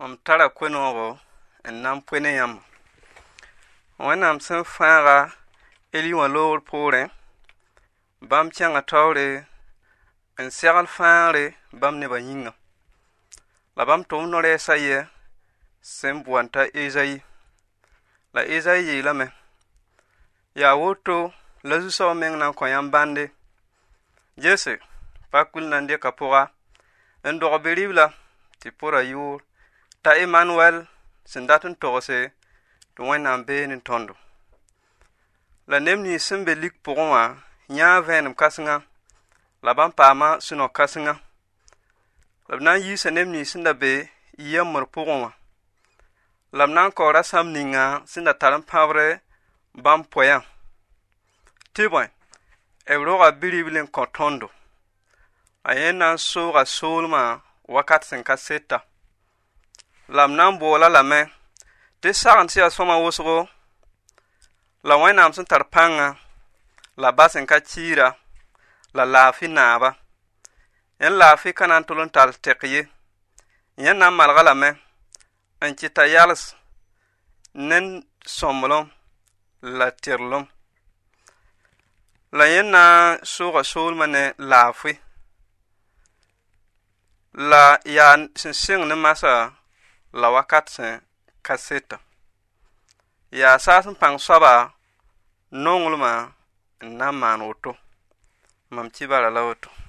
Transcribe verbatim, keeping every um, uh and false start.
Om tara kwenogo en nam pwene yam. Wẽnnaam sẽn fãaga eli wã loogr poorẽ, bãmb kẽnga taoore n segl fãagre bãmb nebã yĩnga. La bãmb tʋʋm no-rɛɛsã yɛ sẽn boond t'a Ezayi. La Ezayi yeelame: yaa woto la zu-soab meng na n kõ yãmb bãnde. Gese, pakul na n dɩka pʋga n dog be-ribla tɩ pʋra yʋʋr t'a Emmanuel sẽn dat n togse tɩ Wẽnnaam bee ne tõndo. La neb nins sẽn be lik pʋgẽ wã yãa vẽenem kãsenga, la bãmb paama sũ-no kãsenga. La b na n yiisa neb nins sẽn da be yembr pʋgẽ wã. La b na n kao rasãmb ninga sẽn da tar n pãbre bãmb poɛyã. Tɩ bõe, b roga bi-ribl n kõ tõndo. A yẽ na n sooga soolmã wakat sẽn ka seta. La b na n boola lame tɩ sagn tɩ yaa sõma wʋsgo, la Wẽnnaam sẽn tar pãnga, la ba sẽn ka kiira, la laafɩ naaba. Yẽ laafɩ ka na n tʋl n tall tɛk ye. Yẽ na n malga lame n kɩ t'a yals ne sõmblem la tɩrlem. La yẽ na n sooga soolmã ne laafɩ. La yaa sẽn sɩng ne masã la wakat sẽn ka seta. Yaa saa sẽn pãng soaba nonglmã n na n maan woto. Mam kibara la woto.